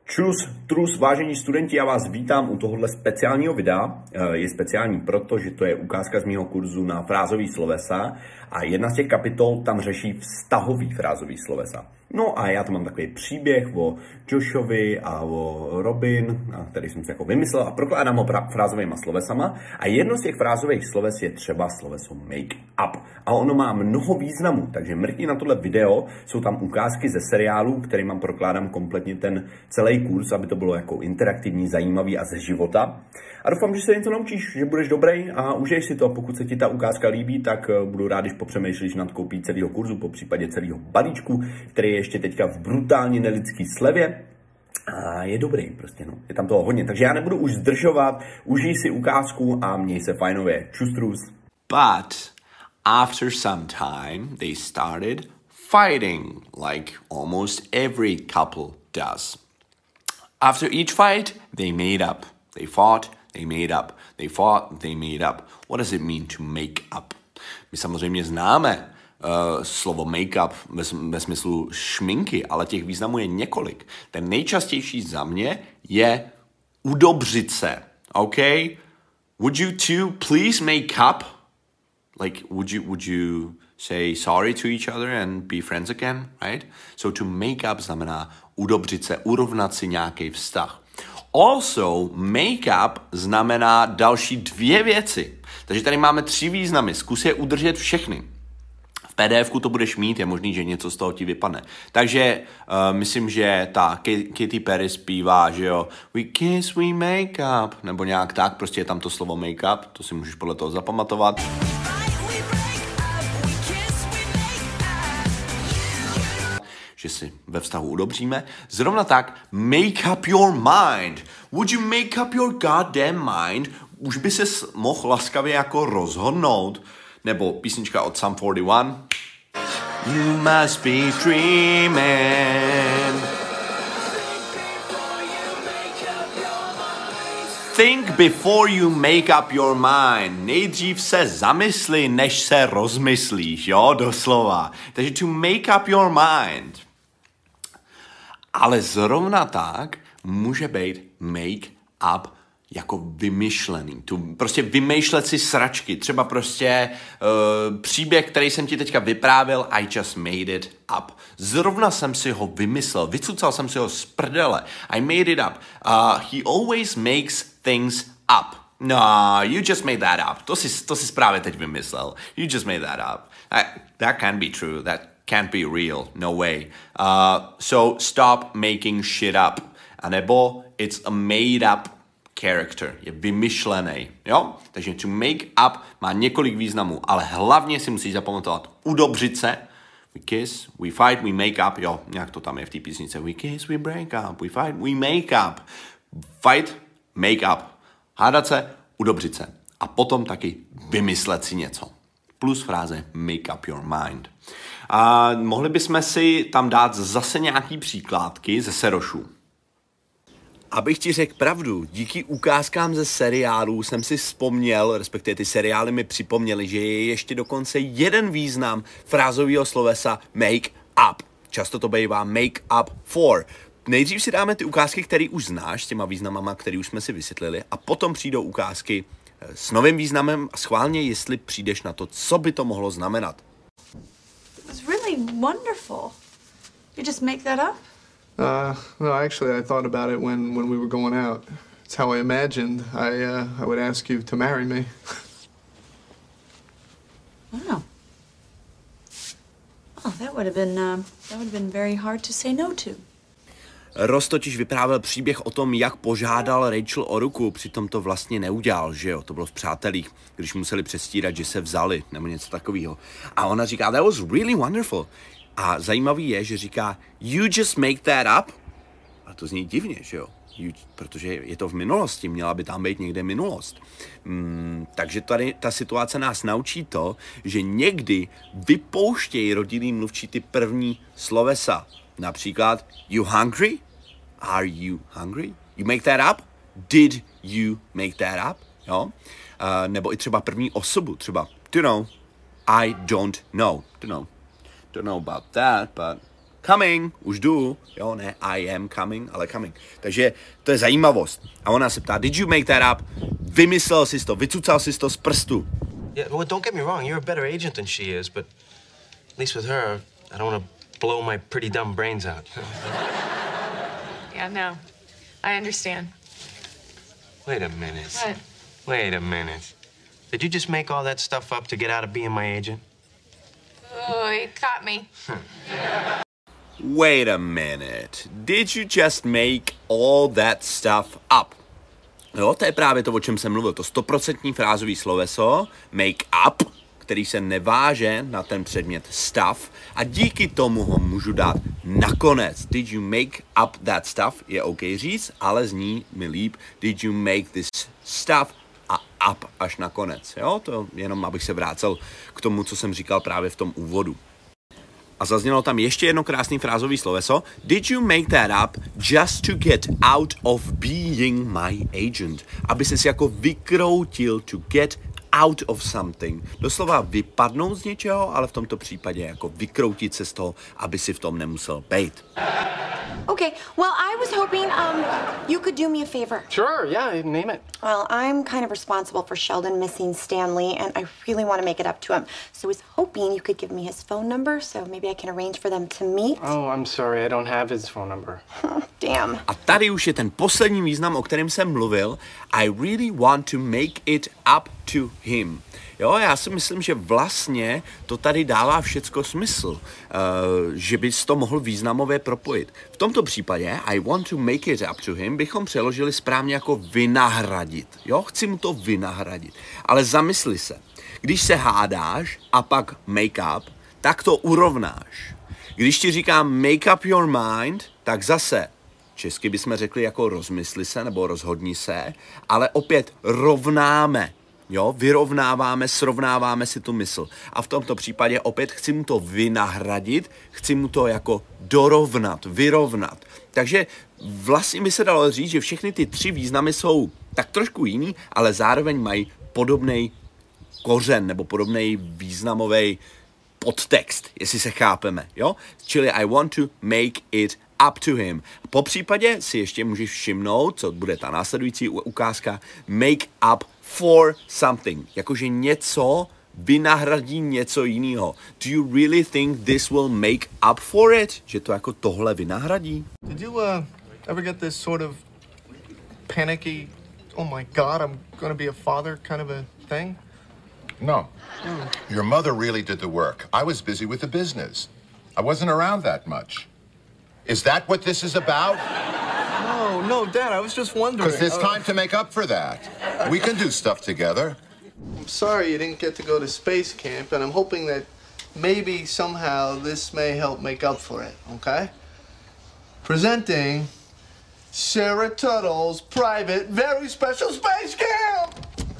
Trus, vážení studenti, já vás vítám u tohohle speciálního videa. Je speciální proto, že to je ukázka z mého kurzu na frázový slovesa a jedna z těch kapitol tam řeší vztahový frázový slovesa. No a já tam mám takový příběh o Joshovi a o Robin, který jsem si jako vymyslel a prokládám ho frázovýma slovesama. A jedno z těch frázových sloves je třeba sloveso make up. A ono má mnoho významů, takže mrkni na tohle video, jsou tam ukázky ze seriálu, kterým prokládám kompletně ten celý kurz, aby to bylo jako interaktivní, zajímavý a ze života. A doufám, že se něco naučíš, že budeš dobrý a užiješ si to. Pokud se ti ta ukázka líbí, tak budu rád, když popřemýšlíš nad koupí celého kurzu, po případě celého balíčku, který je ještě teďka v brutálně nelidský slevě. A je dobrý prostě, no. Je tam toho hodně. Takže já nebudu už zdržovat, užij si ukázku a měj se fajnově. Čus, trus. But after some time, they started fighting, like almost every couple does. After each fight, they made up. They fought, they made up. They fought, they made up. What does it mean to make up? My samozřejmě známe slovo make-up ve smyslu šminky, ale těch významů je několik. Ten nejčastější za mě je udobřit se. OK? Would you two please make up? Like, would you say sorry to each other and be friends again, right? So to make up znamená udobřit se, urovnat si nějaký vztah. Also, make-up znamená další dvě věci. Takže tady máme 3 významy. Zkus je udržet všechny. V PDF-ku to budeš mít, je možný, že něco z toho ti vypadne. Takže myslím, že ta Katy Perry zpívá, že jo, we kiss, we make up, nebo nějak tak, prostě je tam to slovo make-up, to si můžeš podle toho zapamatovat. Že si ve vztahu udobříme. Zrovna tak, make up your mind. Would you make up your goddamn mind? Už by ses mohl laskavě jako rozhodnout. Nebo písnička od Sum 41. You must be dreaming. Think before you make up your mind. Nejdřív se zamysli, než se rozmyslíš, jo, doslova. Takže to make up your mind. Ale zrovna tak může být make up jako vymyšlený. Prostě vymýšlet si sračky. Třeba prostě příběh, který jsem ti teďka vyprávěl, I just made it up. Zrovna jsem si ho vymyslel. Vycucal jsem si ho z prdele. I made it up. He always makes things up. No, you just made that up. To si právě teď vymyslel. You just made that up. That can't be true. That can't be real. No way. So stop making shit up. A nebo it's a made up character. Je vymyšlený. Jo? Takže to make up má několik významů, ale hlavně si musíš zapamatovat udobřit se. We kiss, we fight, we make up. Jo, nějak to tam je v té písnice. We kiss, we break up. We fight, we make up. Fight, make up. Hádat se, udobřit se. A potom taky vymyslet si něco. Plus fráze make up your mind. A mohli bychom si tam dát zase nějaký příkládky ze serošů. Abych ti řekl pravdu, díky ukázkám ze seriálů jsem si vzpomněl, respektive ty seriály mi připomněly, že je ještě dokonce jeden význam frázového slovesa make up. Často to bývá make up for. Nejdřív si dáme ty ukázky, které už znáš, s těma významama, které už jsme si vysvětlili, a potom přijdou ukázky s novým významem a schválně, jestli přijdeš na to, co by to mohlo znamenat. It was really wonderful. You just make that up? No, actually, I thought about it when we were going out. It's how I imagined I would ask you to marry me. Wow. Oh, that would have been very hard to say no to. Ross totiž vyprávěl příběh o tom, jak požádal Rachel o ruku, přitom to vlastně neudělal, že jo, to bylo v Přátelích, když museli přestírat, že se vzali, nebo něco takového. A ona říká, that was really wonderful. A zajímavý je, že říká, you just make that up. A to zní divně, že jo, protože je to v minulosti, měla by tam být někde minulost. Takže tady ta situace nás naučí to, že někdy vypouštějí rodinný mluvčí ty první slovesa. Například, you hungry? Are you hungry? You make that up? Did you make that up? Jo? Nebo i třeba první osobu, třeba, don't know, I don't know. Don't know about that, but coming, už jdu, jo, ne I am coming, ale coming. Takže to je zajímavost. A ona se ptá, did you make that up? Vymyslel jsi to, vycucal jsi to z prstu. Yeah, well, don't get me wrong, you're a better agent than she is, but at least with her, I don't want to blow my pretty dumb brains out. Yeah, no. I understand. Wait a minute. What? Wait a minute. Did you just make all that stuff up to get out of being my agent? Oh, you caught me. Wait a minute. Did you just make all that stuff up? Jo, to je právě to, o čem jsem mluvil. To 100% frázový sloveso, make up, který se neváže na ten předmět stuff a díky tomu ho můžu dát nakonec. Did you make up that stuff? Je OK říct, ale zní mi líp. Did you make this stuff? A up až nakonec. Jo, to jenom abych se vrátil k tomu, co jsem říkal právě v tom úvodu. A zaznělo tam ještě jedno krásný frázový sloveso. Did you make that up just to get out of being my agent? Aby ses jako vykroutil to get out of something. Doslova vypadnout z něčeho, ale v tomto případě jako vykroutit se z toho, aby si v tom nemusel bejt. Okay, well, I was hoping you could do me a favor. Sure, yeah, name it. Well, I'm kind of responsible for Sheldon missing Stanley, and I really want to make it up to him. So I was hoping you could give me his phone number, so maybe I can arrange for them to meet. Oh, I'm sorry, I don't have his phone number. Damn. A tady už je ten poslední význam, o kterém jsem mluvil. I really want to make it up to him. Jo, já si myslím, že vlastně to tady dává všecko smysl, že bys to mohl významově propojit. V tomto případě I want to make it up to him bychom přeložili správně jako vynahradit. Jo, chci mu to vynahradit. Ale zamysli se, když se hádáš a pak make up, tak to urovnáš. Když ti říkám make up your mind, tak zase česky bychom řekli jako rozmysli se nebo rozhodni se, ale opět rovnáme. Jo, vyrovnáváme, srovnáváme si tu mysl. A v tomto případě opět chci mu to vynahradit, chci mu to jako dorovnat, vyrovnat. Takže vlastně by se dalo říct, že všechny ty tři významy jsou tak trošku jiný, ale zároveň mají podobný kořen nebo podobný významový podtext, jestli se chápeme, jo? Čili I want to make it up to him. Po případě si ještě můžeš všimnout, co bude ta následující ukázka, make up for something. Jakože něco vynahradí něco jiného. Do you really think this will make up for it? Že to jako tohle vynahradí? Did you ever get this sort of panicky, oh my God, I'm gonna be a father kind of a thing? No. Your mother really did the work. I was busy with the business. I wasn't around that much. Is that what this is about? No, Dad, I was just wondering. Because there's time to make up for that. We can do stuff together. I'm sorry you didn't get to go to space camp, and I'm hoping that maybe somehow this may help make up for it, okay? Presenting Sarah Tuttle's private, very special space camp!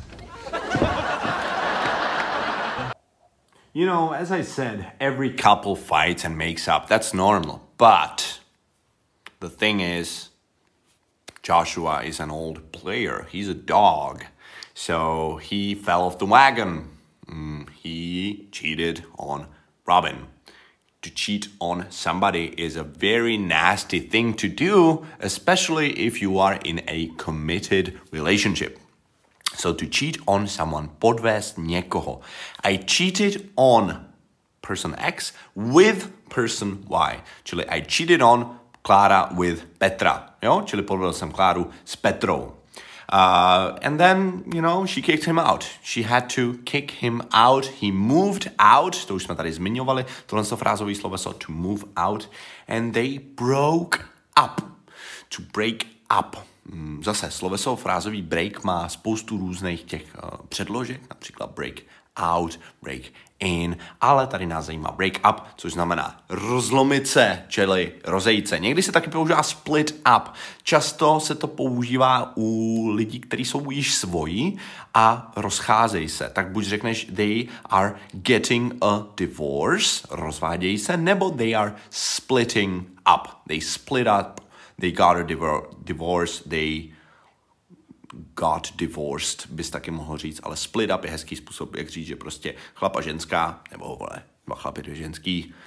You know, as I said, every couple fights and makes up. That's normal. But the thing is, Joshua is an old player. He's a dog. So he fell off the wagon. He cheated on Robin. To cheat on somebody is a very nasty thing to do, especially if you are in a committed relationship. So to cheat on someone, podvést někoho. I cheated on person X with person Y. Čili I cheated on Klára with Petra. Jo? Čili podvedl jsem Kláru s Petrou. And then, you know, she kicked him out. She had to kick him out. He moved out. To už jsme tady zmiňovali. Tohle je frázový sloveso to move out. And they broke up. To break up. Zase sloveso frázový break má spoustu různých těch předložek, například break out, break in, ale tady nás zajímá break up, což znamená rozlomit se, čili rozejít se. Někdy se taky používá split up. Často se to používá u lidí, kteří jsou již svoji a rozcházejí se. Tak buď řekneš they are getting a divorce, rozvádějí se, nebo they are splitting up. They split up. They got a divorce, they got divorced, bys taky mohl říct, ale split up je hezký způsob, jak říct, že prostě chlap a ženská, nebo chlap je dvě ženský,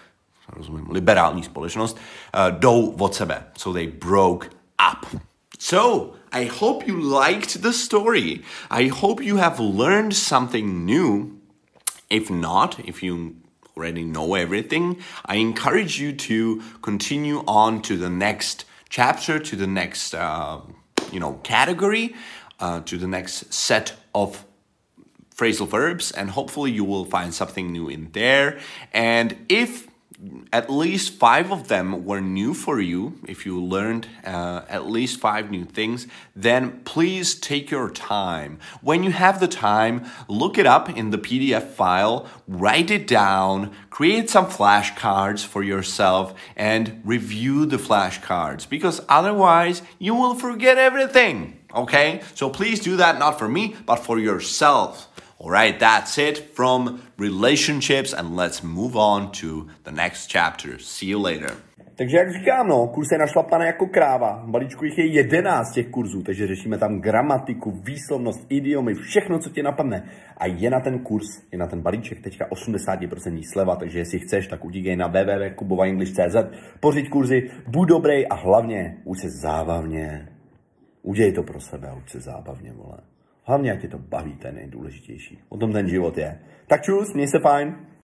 rozumím, liberální společnost, jdou od sebe. So they broke up. So, I hope you liked the story. I hope you have learned something new. If not, if you already know everything, I encourage you to continue on to the next chapter, to the next, category, to the next set of phrasal verbs, and hopefully you will find something new in there. And if at least 5 of them were new for you, if you learned at least 5 new things, then please take your time. When you have the time, look it up in the PDF file, write it down, create some flashcards for yourself, and review the flashcards, because otherwise you will forget everything, okay? So please do that, not for me, but for yourself. Alright, that's it from relationships, and let's move on to the next chapter. See you later. Takže jak říkám, kurz je našlapaný jako kráva. V balíčku jich je 11 těch kurzů, takže řešíme tam gramatiku, výslovnost, idiomy, všechno, co ti napadne. A je na ten kurz, je na ten balíček teďka 80% sleva, takže jestli chceš, tak utíkej na www.kubovaenglish.cz, pořiď kurzy, buď dobrý a hlavně uč se zábavně. Udělej to pro sebe a uč se zábavně, vole. Hlavně, jak tě to baví, to je nejdůležitější. O tom ten život je. Tak čus, měj se fajn.